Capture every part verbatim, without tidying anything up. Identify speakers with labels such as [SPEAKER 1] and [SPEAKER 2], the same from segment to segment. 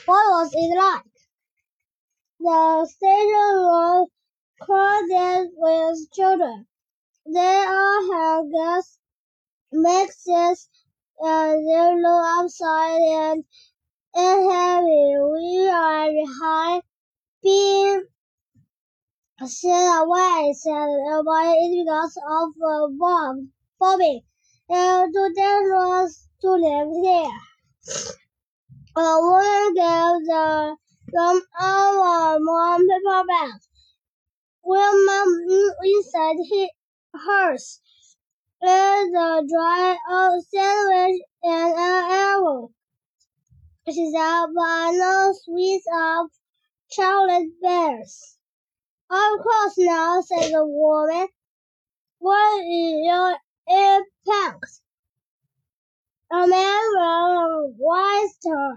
[SPEAKER 1] What was it like? The station was crowded with children. They all had gas masks and they looked upside and heavy. We are behind, being sent away, said everybody, is because of a bomb bombing. It's too dangerous to live here. A woman gave the them our mom paper bag. When mom inside his, hers is a dry oat sandwich and an apple. She said, but no sweets of chocolate bears. Of course not, said the woman. What is your impact? A man with white star.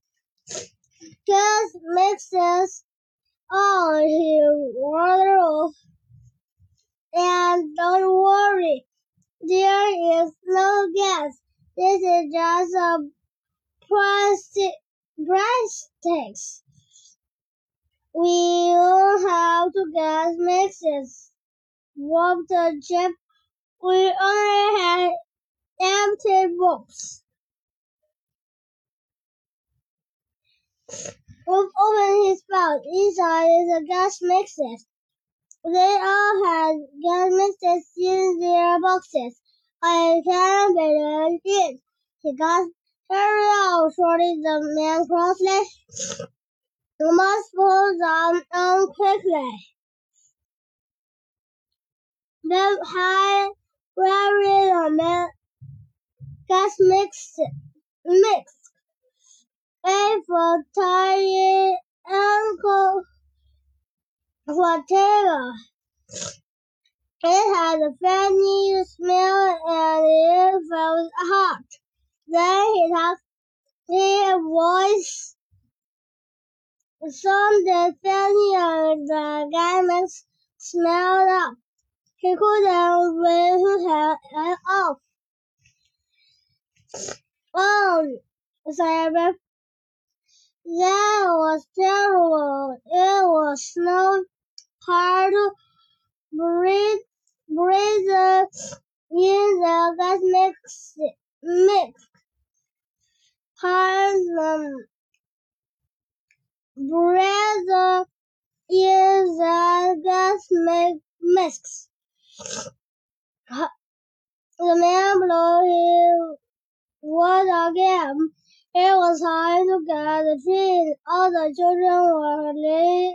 [SPEAKER 1] Gas mixes on his wardrobe. And don't worry, there is no gas. This is just a plastic plastics. We don't have to gas mixes. Walk the chip. We only had empty box. Wolf opened his mouth. Inside is a gas mixes. They all had gas mixes in their boxes. I can't believe it. He gasped. Hurry up, shouted the man crossly. You must pull them on quickly. Then high carried the man gas mix mix. A for tiny ankle whatever. It had a funny smell and it felt hot. Then he talked his voice sounded funny and the garments smelled up. He couldn't breathe his head off. Oh, said that was terrible. It was so hard to breathe, breathe in the gas mix. mix. Hard um, breathe in the gas mix. The man blew his word again. It was time to get the train. All the children were lay,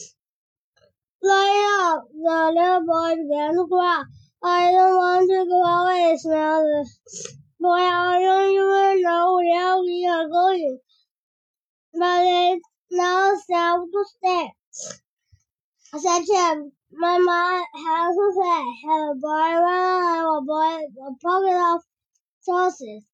[SPEAKER 1] lying up. The little boy began to cry. I don't want to go away, smiled the boy. I don't even know where we are going. But it's now safe to stay. Said Jim. Mama has to say, have a boy run, have a boy a pocket of sauces.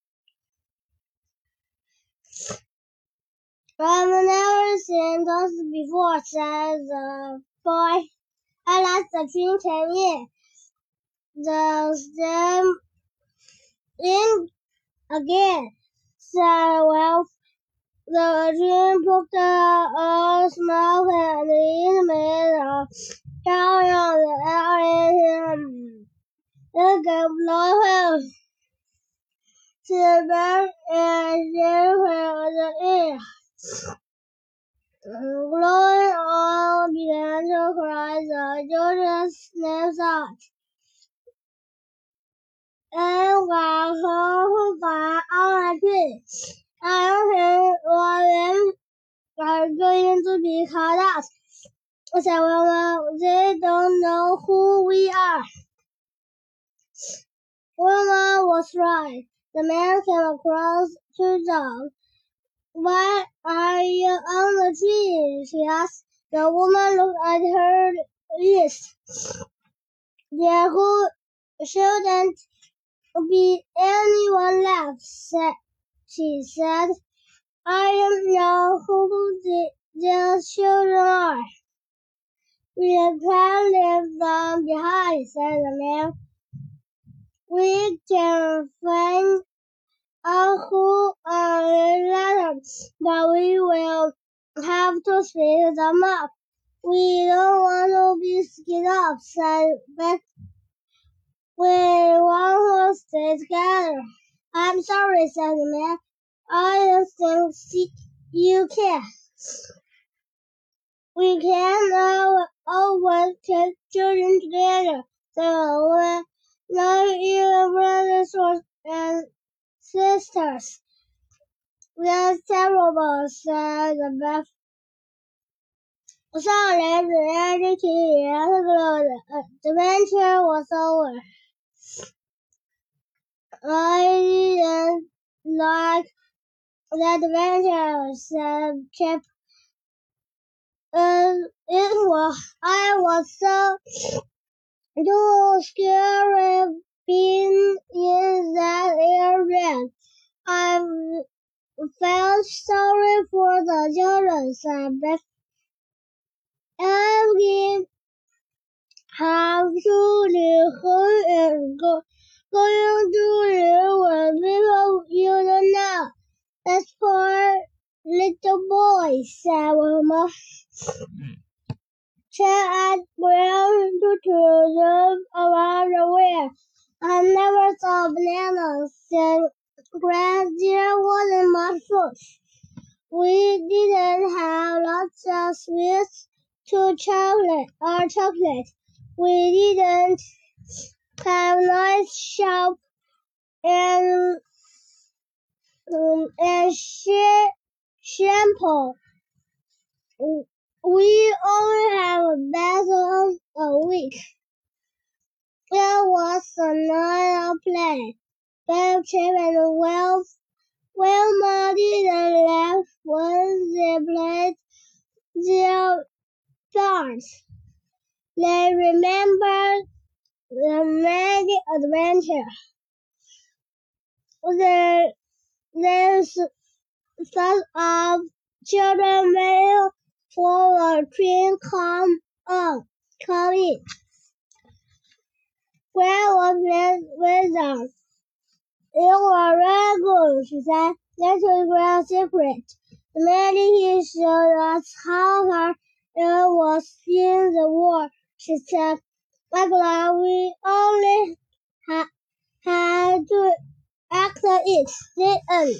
[SPEAKER 1] I've never seen sauces before, said the boy. I left the train came in. The stem in again, said Ralph. The train poked a smoke and it made a carry on the air in him. It gave blow him to the back and everywhere the air. Glowing all began to cry. The children sniffed out. And while who got on a tree, I don't think what them are going to be called out. Said Wilma, they don't know who we are. Wilma was right. The man came across to them. Why are you on the tree? She asked. The woman looked at her wrist. There who shouldn't be anyone left, said, she said. I don't know who the, the children are. We can leave them behind, said the man. We can find uh, who are letters, but we will have to speak them up. We don't want to be scared up, said Beth. We want to stay together. I'm sorry, said the man. I don't think you can. We can uh, always take children together. So we're not even brothers and sisters. That's terrible, said Beth. 少年子 educated the adventure was over. I didn't like the adventure, said Chip. Uh, it was, I was so too scared being in that area. I felt sorry for the children, said Beth. Every have to live home and go, going to live with people you don't know. That's poor little boy, said Mama. Check out brown to them around the way. I never saw bananas, said Grand. There wasn't much fruit. We didn't have lots of sweets to chocolate or chocolate. We didn't have nice shop and um, and sh- shampoo. We only have a battle a week. There was another play. Beth, Chip, and Will, Wilma didn't laugh when they played their parts. They remembered the many adventure. They, they thought of children waiting for a train come on, come in. Where was Miss Wizard? You were very good, she said. That was a secret. The minute he showed us how hard it was in the war, she said. I'm glad we only ha- had to act it. The end.